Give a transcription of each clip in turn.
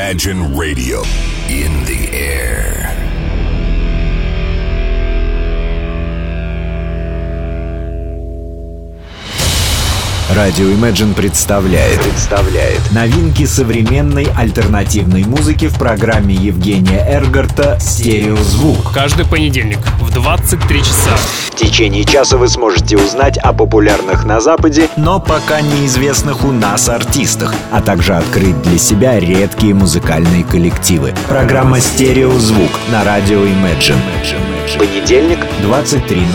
Imagine Radio. In the air. Радио Imagine представляет новинки современной альтернативной музыки в программе Евгения Эргарта «Стереозвук». Каждый понедельник в 23 часа. В течение часа вы сможете узнать о популярных на Западе, но пока неизвестных у нас артистах, а также открыть для себя редкие музыкальные коллективы. Программа «Стереозвук» на радио Imagine. Понедельник, 23:00.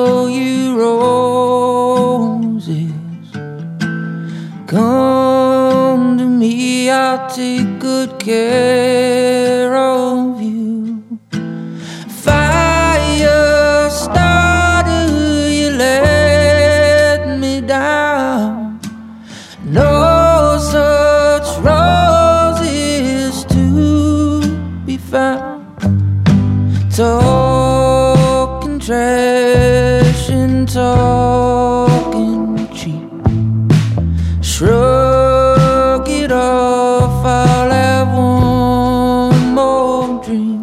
throw you roses. Come to me, I'll take good care of you. Fire starter, you let me down. No such roses to be found. Talking trash and talking cheap. Shrug it off, I'll have one more drink.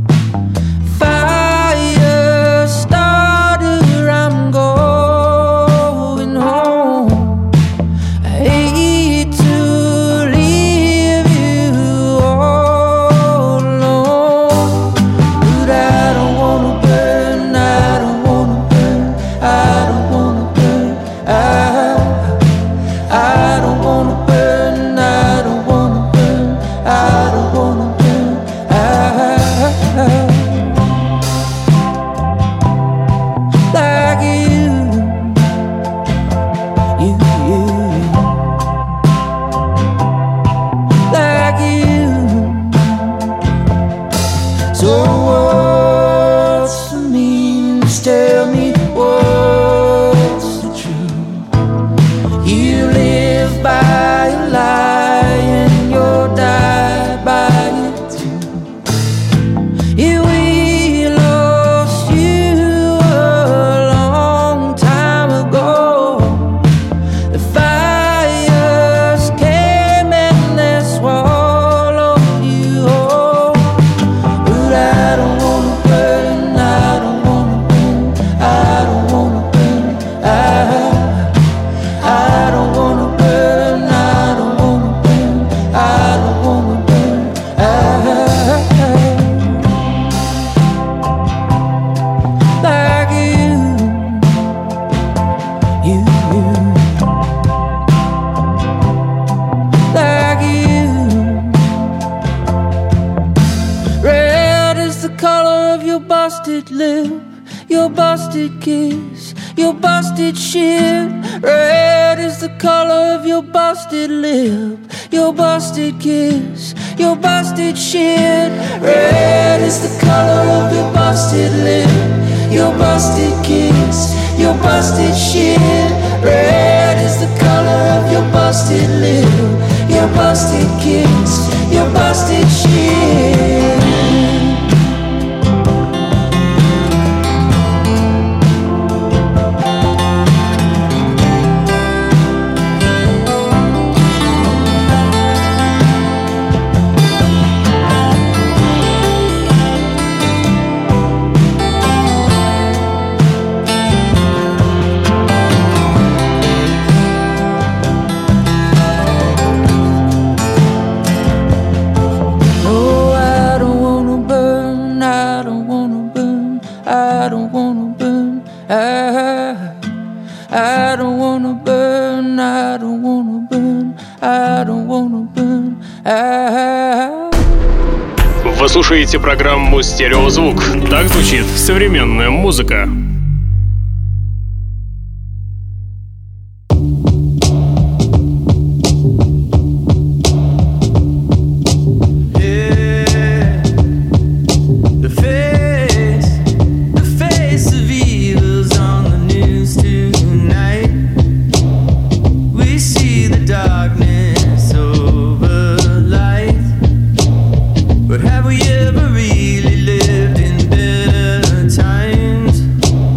Fire starter, I'm going home. I hate to leave you all alone, but I don't wanna burn, I don't wanna burn, I don't wanna burn, I don't wanna burn, I don't wanna burn, I don't wanna burn, like you, like you. So what's the means? Tell me what's the truth. You live by a lie and you'll die by it too. Yeah, we lost you a long time ago. The fires came and they swallowed you whole. But I don't wanna burn, I don't wanna burn, I don't wanna burn, I don't wanna burn, I don't wanna burn, I don't wanna burn, like you, like you. Red is the color of your busted lip, your busted kiss, your busted shit. Red is the color of your busted lip, your busted kiss, your busted shit. Red is the color of your busted lip, your busted kiss, your busted shit. Red is the color of your busted lip, your busted kiss, your busted shit. No, I don't wanna burn, I don't wanna burn, I don't wanna burn, I don't wanna burn, I don't wanna burn, I don't wanna burn, Вы слушаете программу «Стереозвук». Так звучит современная музыка. But have we ever really lived in better times?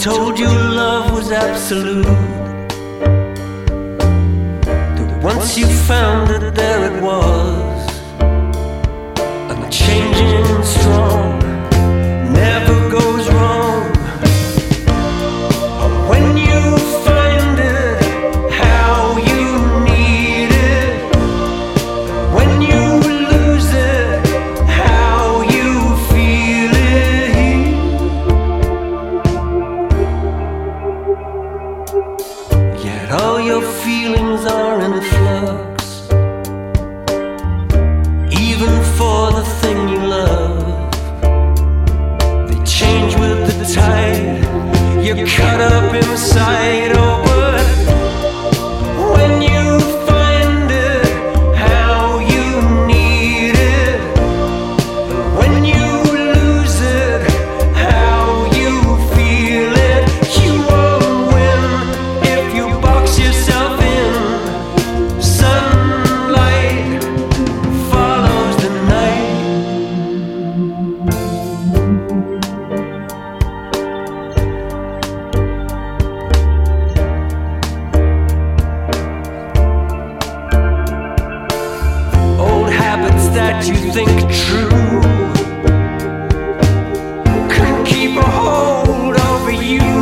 told you love was absolute. That once you found it, there it was, unchanging, strong, never goes wrong. When you find it, how you need it. When you lose it, how you feel it. Yet all your feelings are in flux, even for the thing you love. They change with the tide. You're caught up inside. Oh, but when you find it, how you need it. When you lose it, how you feel it. You won't win if you box yourself in. Sunlight follows the night. Old habits that you think true couldn't keep a hold over you.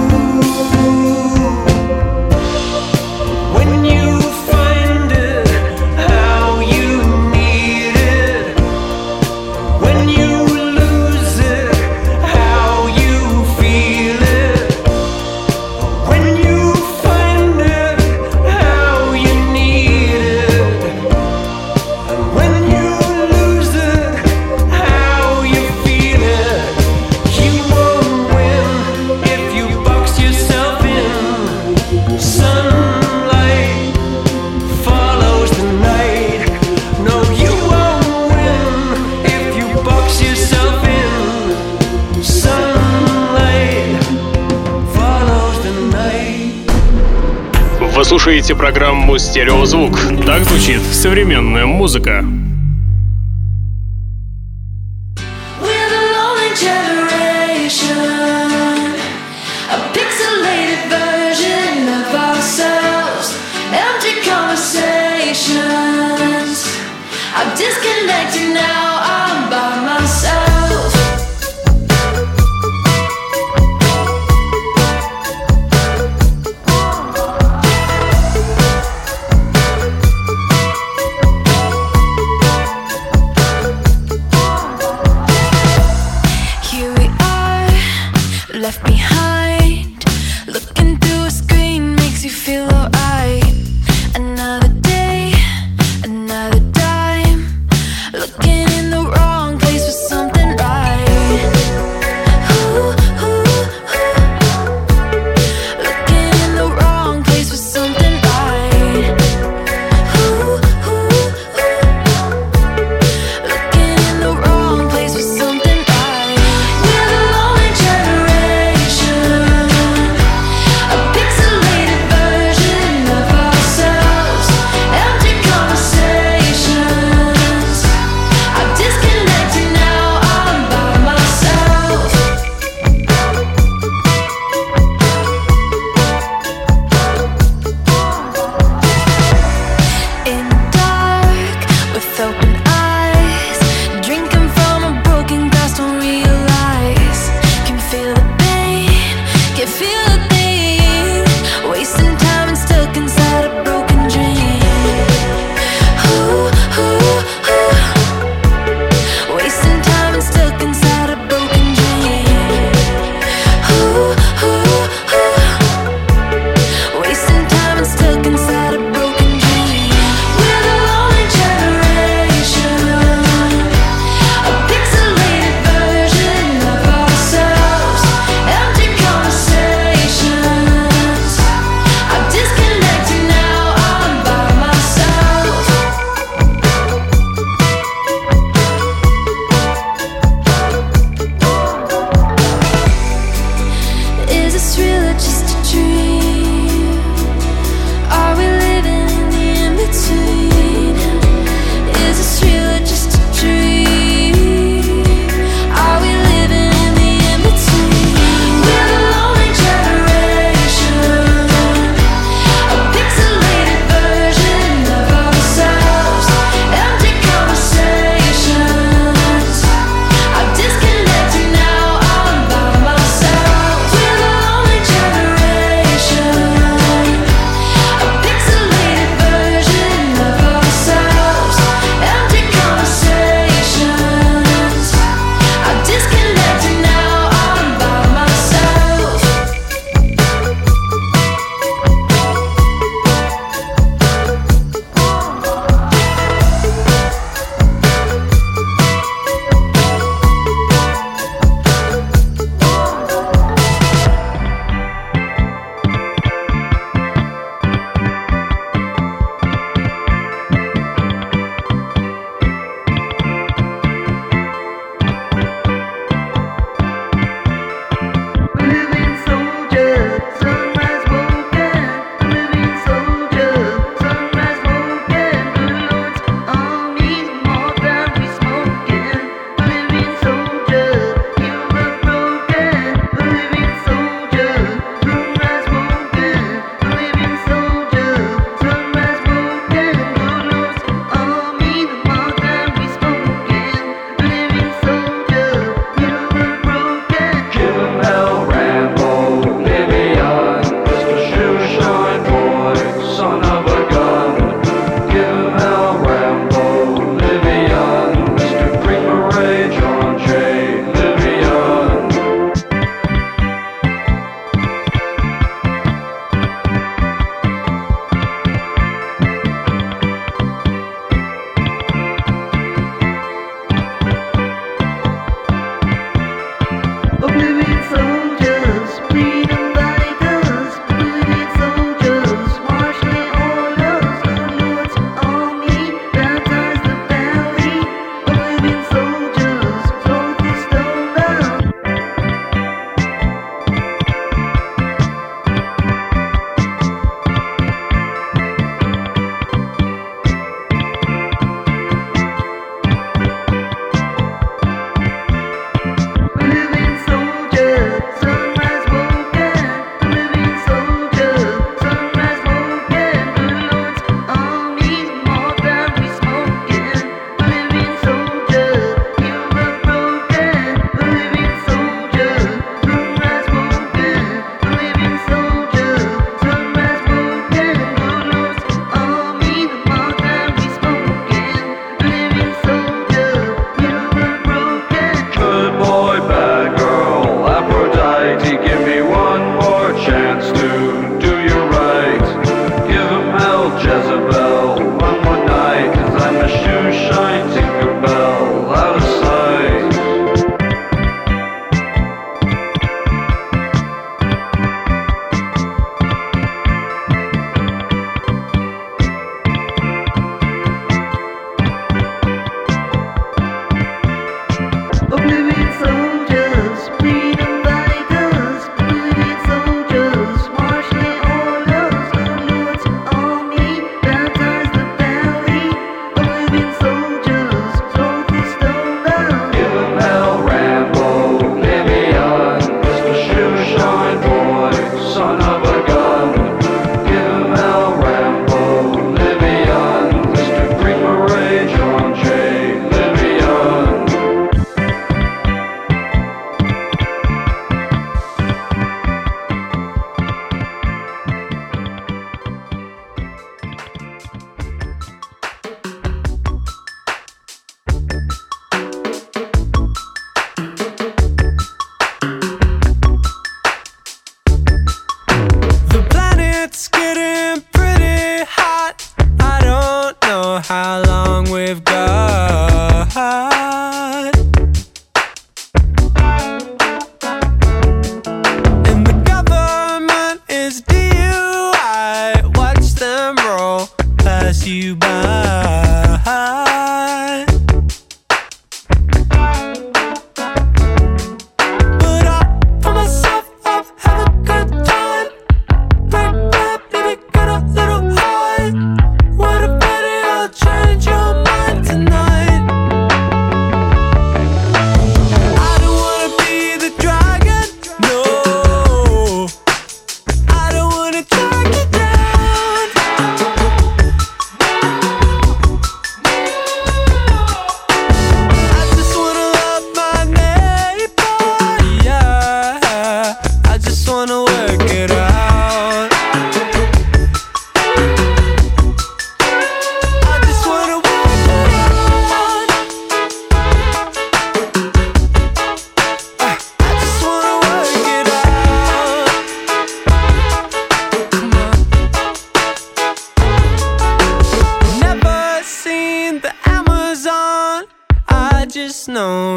When you find it, how you need it. When you lose it, how you feel it. When you find it, how you need it. When you lose it, how you feel it. You won't win if you box yourself in. Sunlight follows the night. No, you won't win if you box yourself in. Sunlight follows the night. Вы слушаете программу «Стереозвук». Так звучит современная музыка. We're the lonely generation, a pixelated version of ourselves, empty conversations. I'm disconnected now, I'm by myself. Here we are, left behind. Looking through a screen makes you feel alright. Another day, another time. Looking in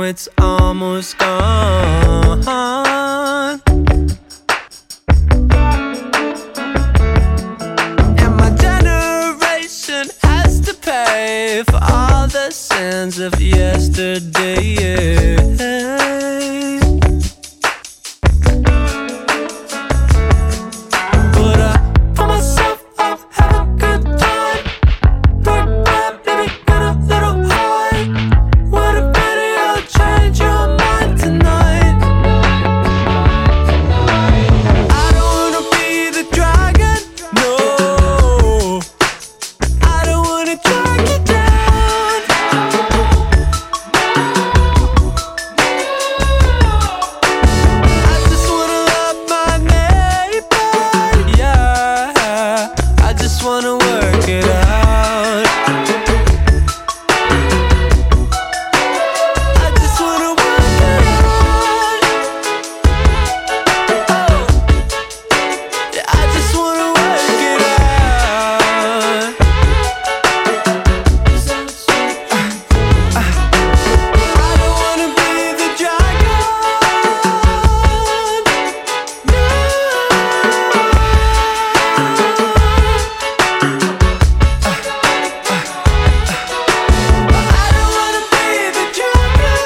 it's almost gone. And my generation has to pay for all the sins of yesterday. But I pull myself up, have a good time. Dark vibe, maybe get a little high. What a video, change your mind tonight. I don't wanna be the dragon, no. I don't wanna drag you down. I just wanna love my neighbor, yeah. I just wanna work it out. I just wanna work it out. Oh, yeah, I just wanna work it out. I don't wanna be the dragon. No. I don't wanna be the dragon.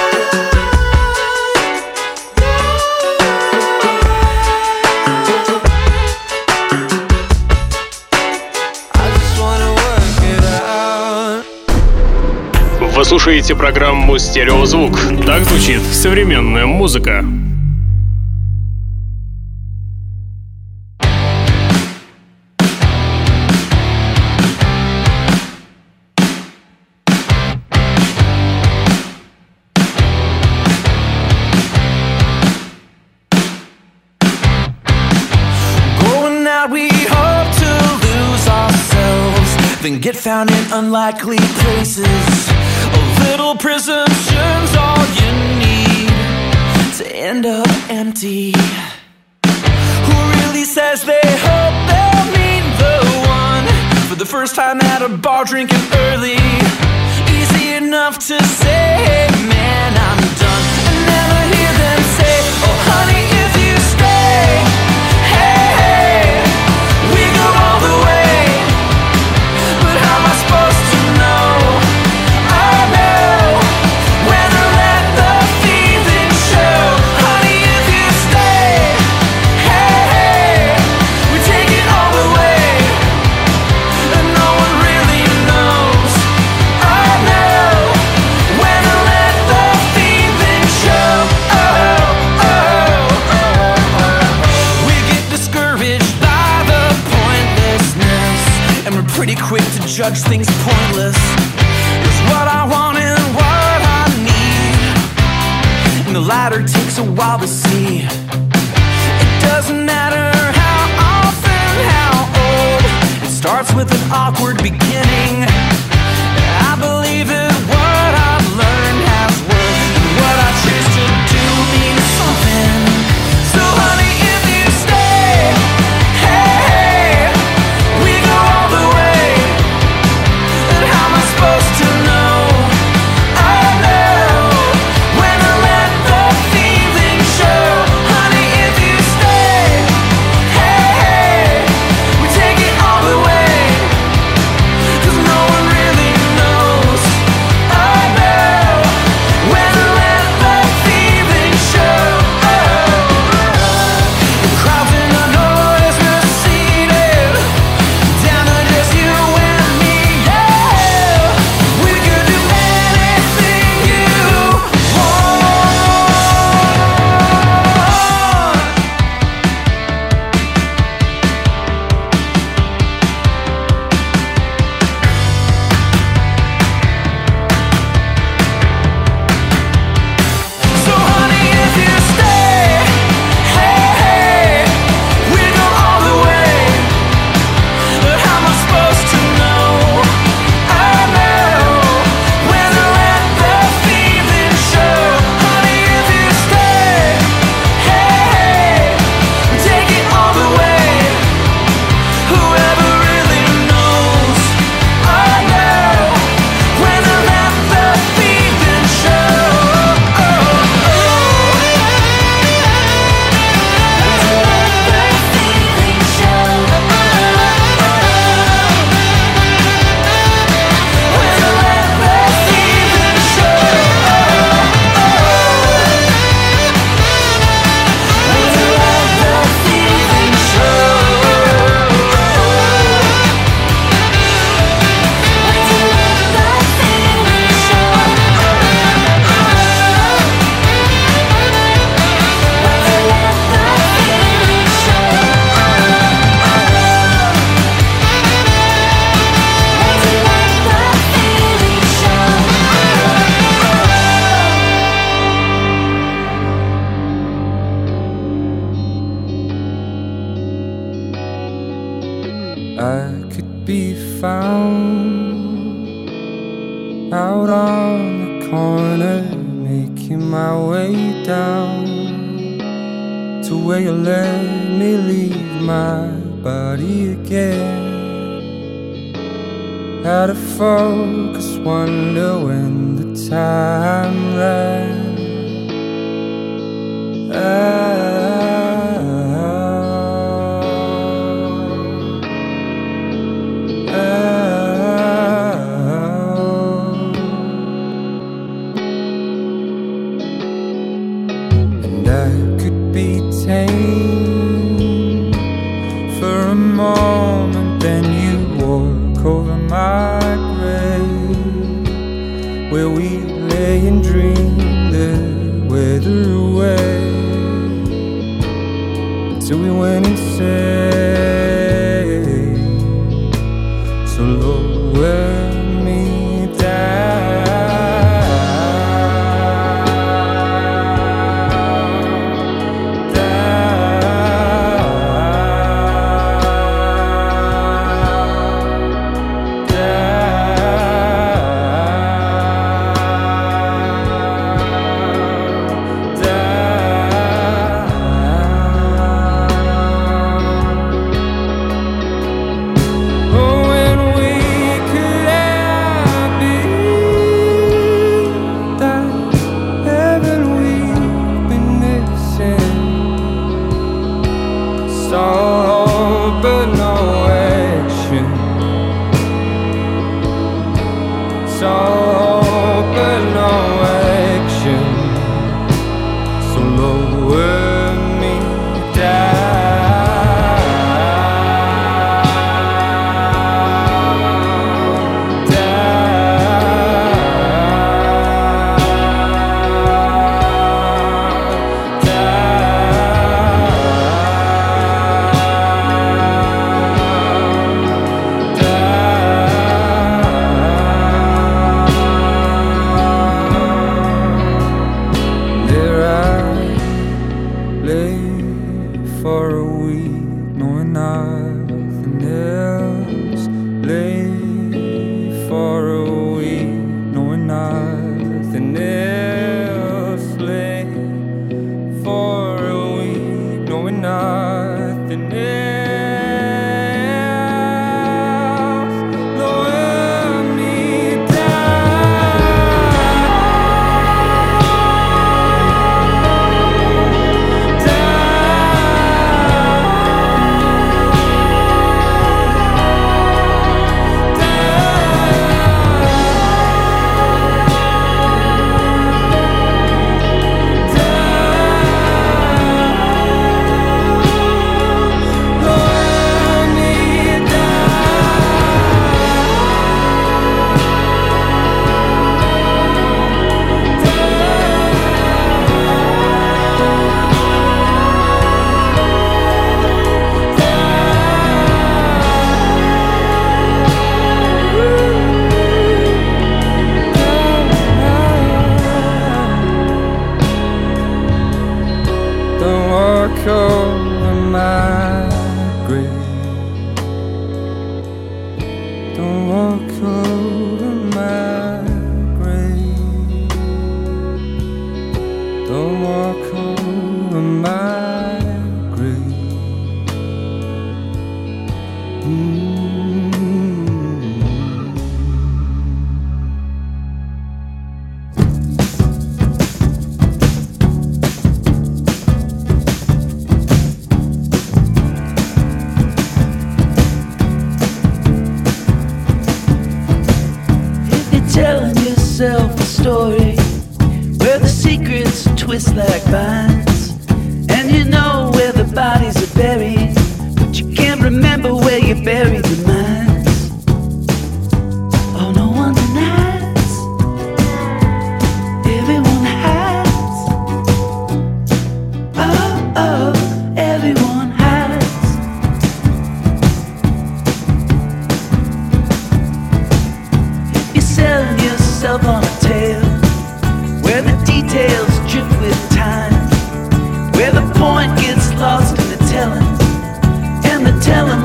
I just wanna work it out. Вы слушаете программу «Стереозвук». Так звучит современная музыка. Going out, we hope to lose ourselves, then get found in unlikely places. A little presumption's all you need to end up empty. Who really says they hope they'll meet the one for the first time at a bar drinking early? Easy enough to say, hey man, I'm done. I never hear them say, oh honey, if you stay, hey, hey, we go all the way. But how am I supposed to know? I know when to let the feeling show. Honey, if you stay, hey, hey, we take it all the way. And no one really knows. I know when to let the feeling show. Oh, oh, oh. We get discouraged by the pointlessness, and we're pretty quick to judge things pointless. It's what I want and what I need, and the latter takes a while to see. It doesn't matter how often, how old, it starts with an awkward beginning. I believe that what I've learned has worth, and what I choose to do means something. So honey, if you stay, hey, hey, we go all the way. And how am I supposed to know? I know when to let the feeling show. Honey, if you stay, hey, hey, we take it all the way. 'Cause no one really knows. I know out on the corner, making my way down to where you let me leave my body again. How to focus, wonder when the time ran. And I could be tame for a moment, then you walk over my grave, where we lay and dream the weather away, till we went insane. So lower me down.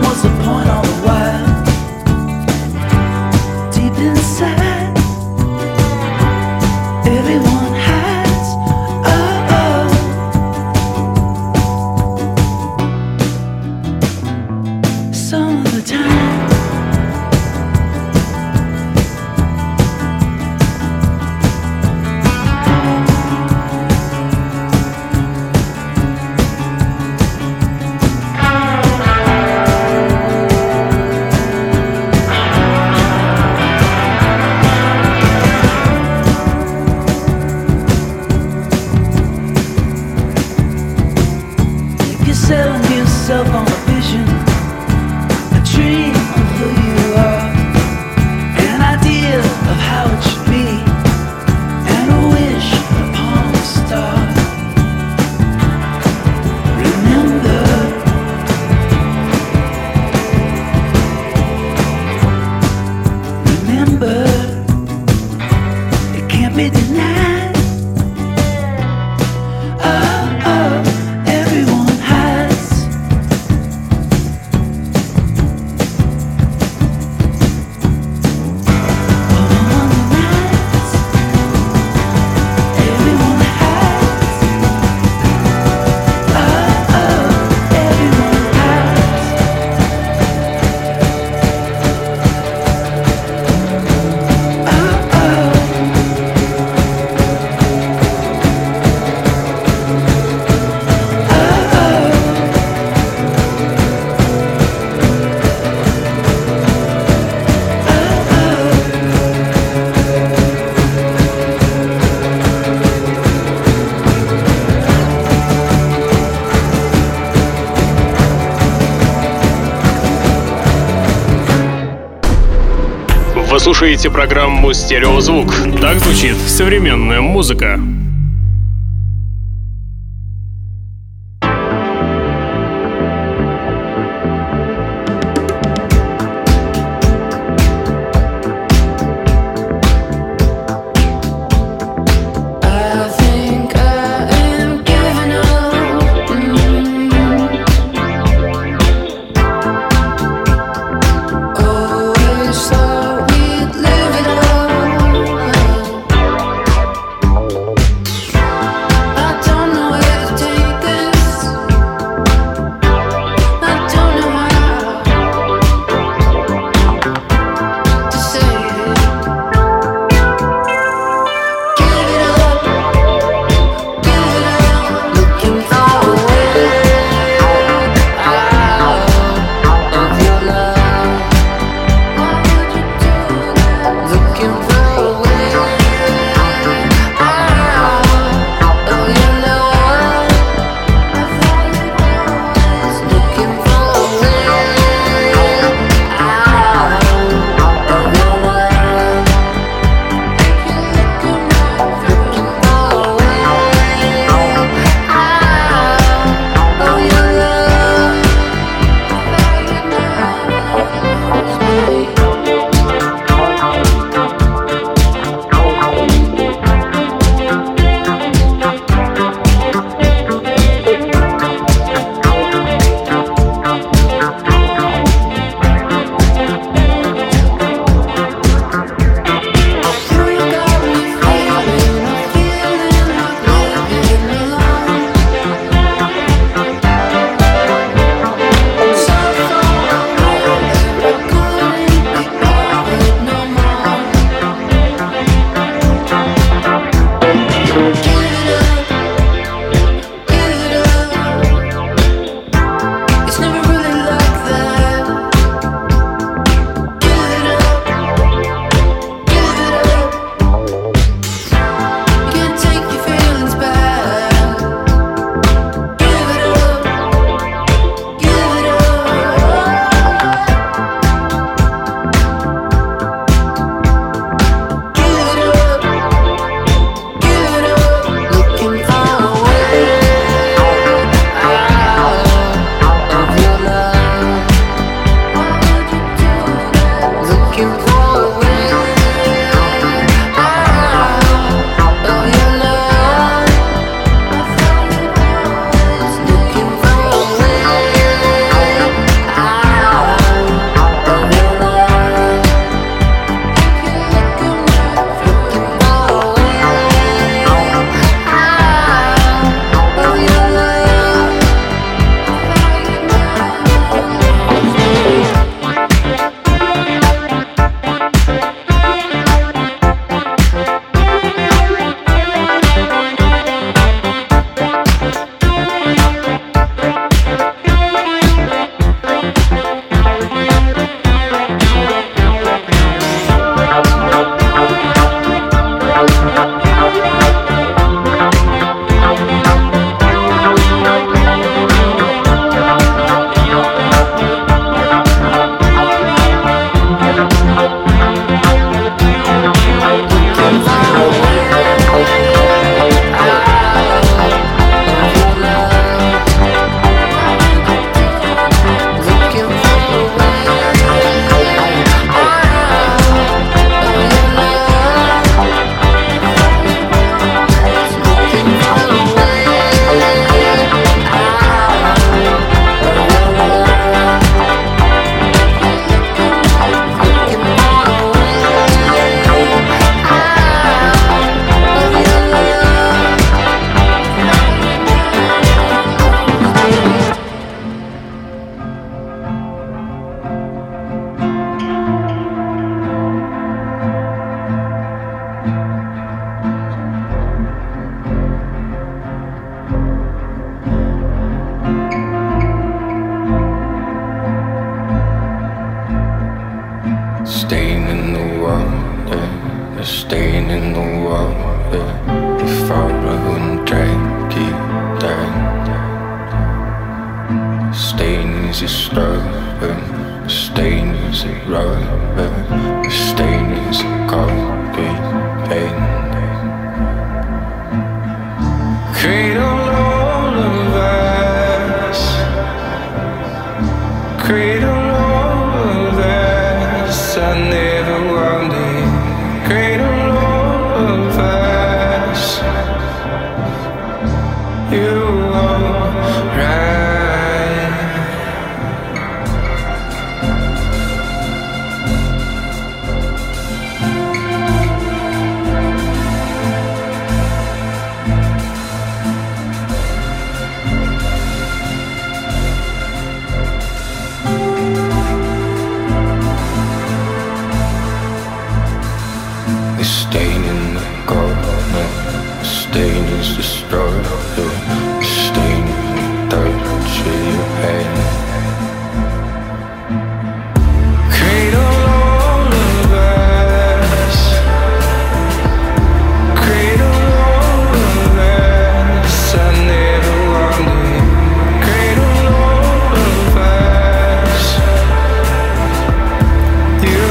Inside selling yourself on a vision, a dream of who you are, an idea of how it should be, and a wish upon a star. Remember, it can't be denied. Everyone has. On the nights, everyone has. Everyone Вы слушаете программу «Стереозвук». Так звучит современная музыка. Thought we'd live it all. stain in the water, a stain in the water. If I wouldn't drag you down, stain is a stubborn, a stain is a rubber, a stain is a concrete pain. Cradle all of us, cradle all of us. I never wanted, cradle all of us. You alright? The stain in the corner, the stain is destroyed. The stain in the touch of your hand. Cradle all of us, cradle all of us. I never wanted, cradle all of us. You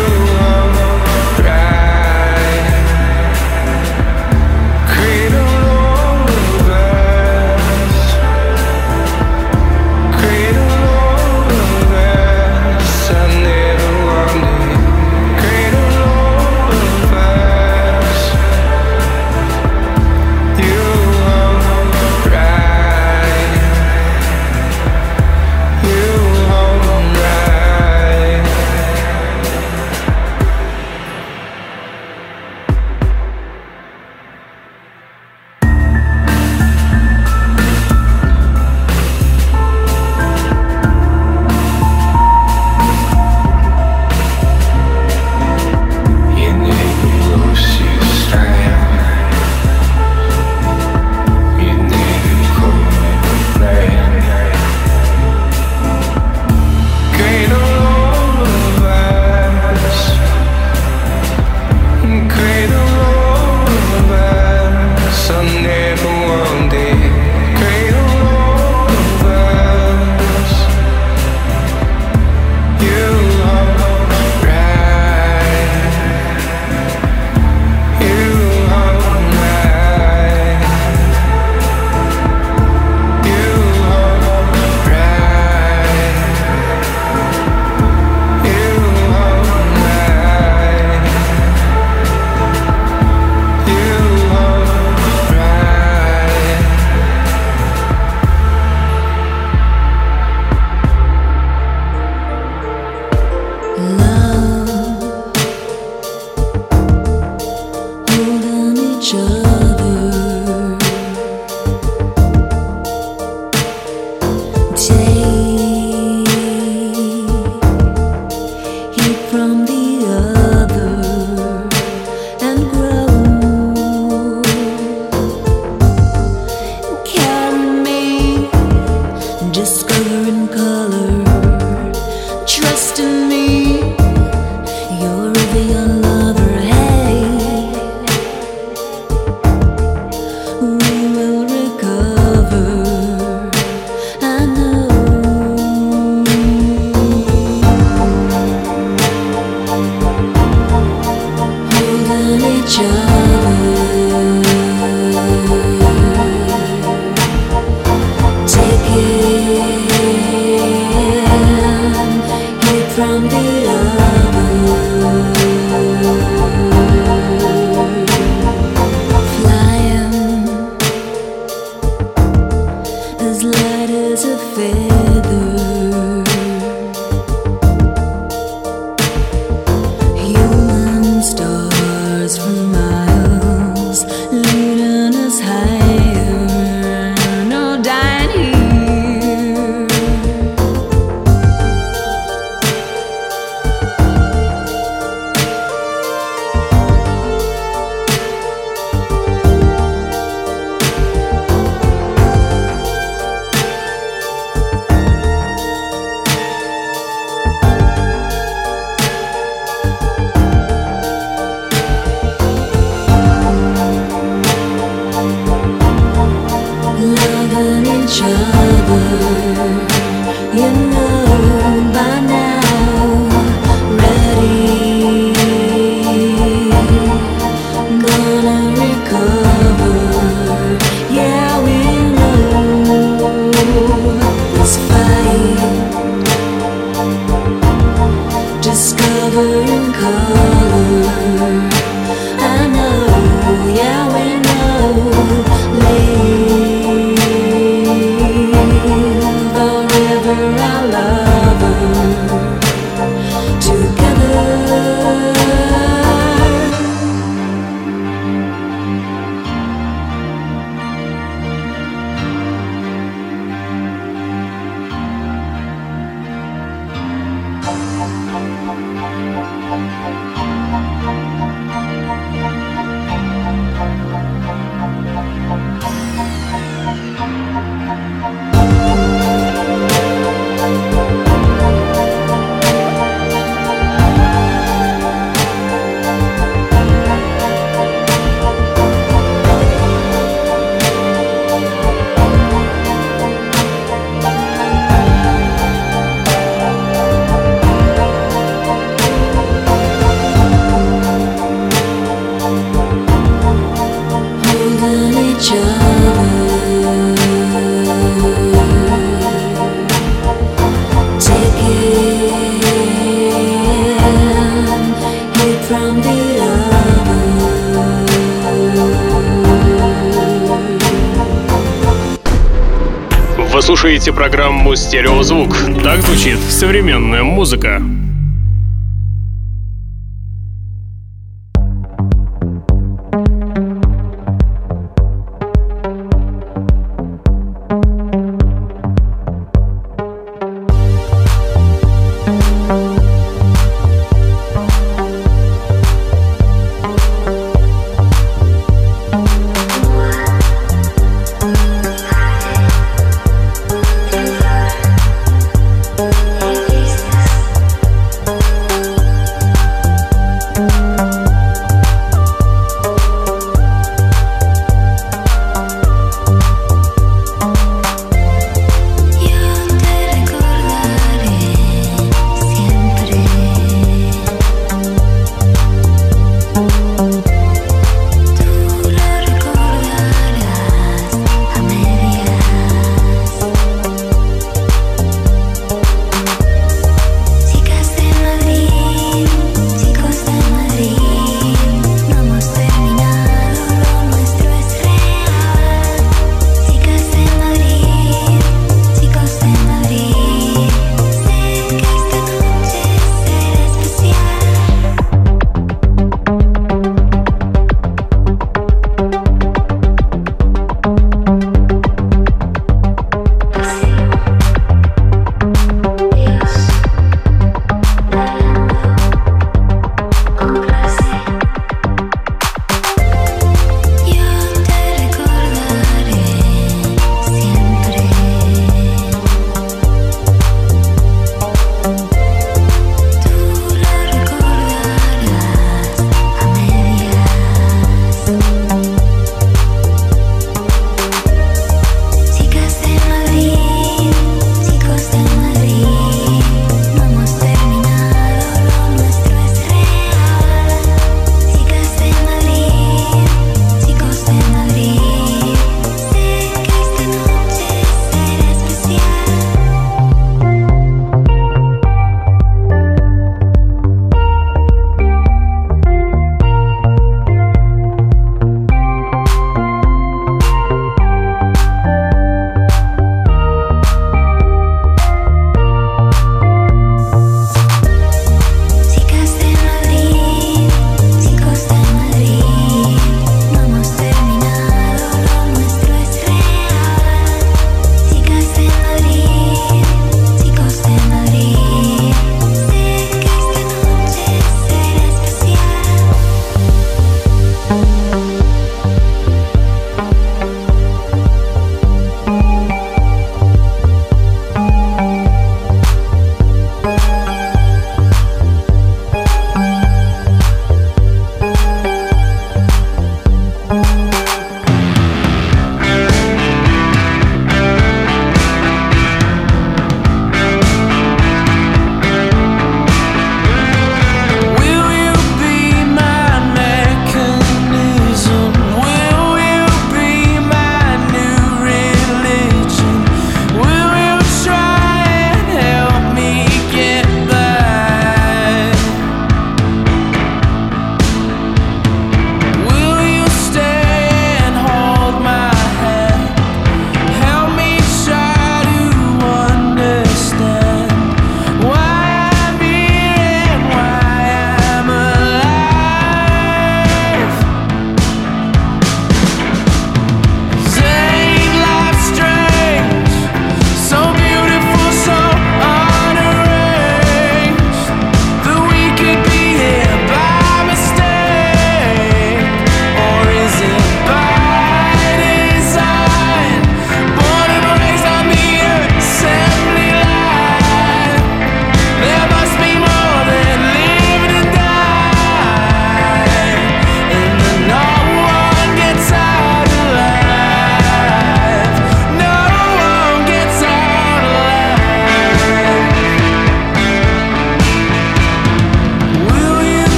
alright? Cradle all of us. Вы слушаете программу «Стереозвук». Так звучит современная музыка.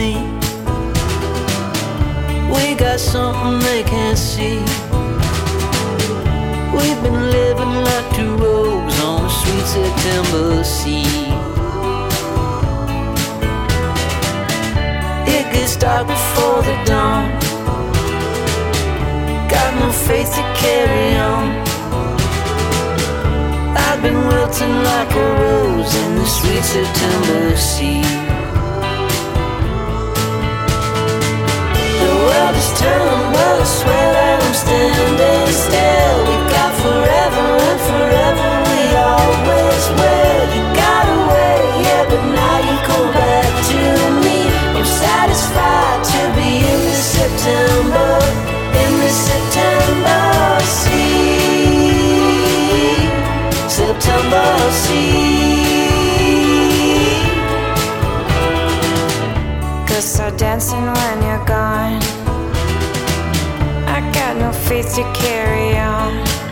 me. We got something they can't see. We've been living like two rogues on a sweet September sea. It gets dark before the dawn. Got no faith to carry on. I've been wilting like a rose in the sweet September sea. The world is turning, but I swear that I'm standing still. We got forever and forever we always will. You got away, yeah, but now you come back to me. I'm satisfied to be in this September, in this September sea, September sea. 'Cause so dancing when you're gone, I got no faith to carry on.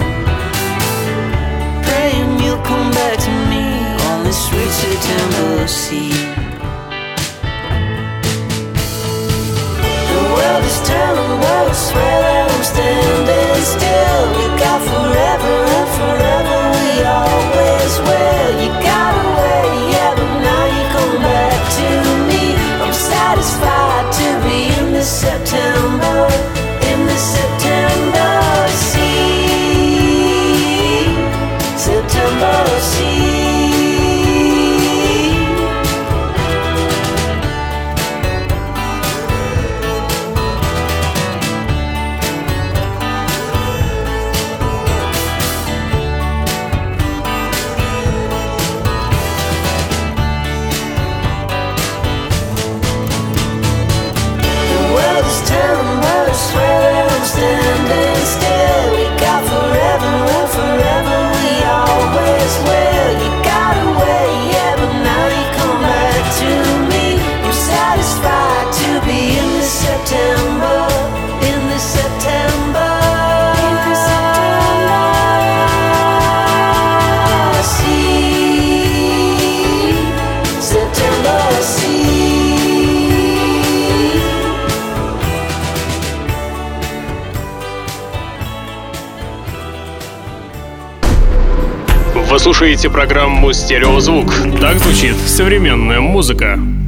Praying you'll come back to me on this sweet September sea. The world is turning, but I swear that I'm standing still. We got forever and forever we always will. You got away, yeah, but now you come back to me. I'm satisfied to be in this September, in this September sea, September sea. Standing still, we got forever and forever we always will. You got away, yeah, but now you come back to me. I'm satisfied to be in this September, in this September, in this September sea, September sea. Вы слушаете программу «Стереозвук». Так звучит современная музыка.